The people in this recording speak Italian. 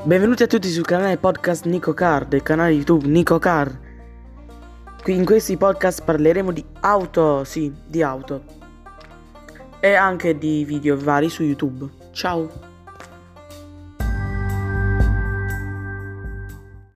Benvenuti a tutti sul canale podcast Nico Car, del canale YouTube Nico Car. Qui in questi podcast parleremo di auto, di auto. E anche di video vari su YouTube. Ciao!